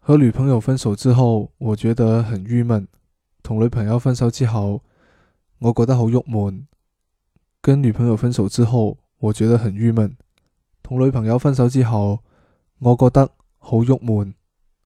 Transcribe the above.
和女朋友分手之後，我覺得很鬱悶。同女朋友分手之後，我覺得好鬱悶。跟女朋友分手之後，我覺得很鬱悶。同女朋友分手之後，我覺得好鬱悶。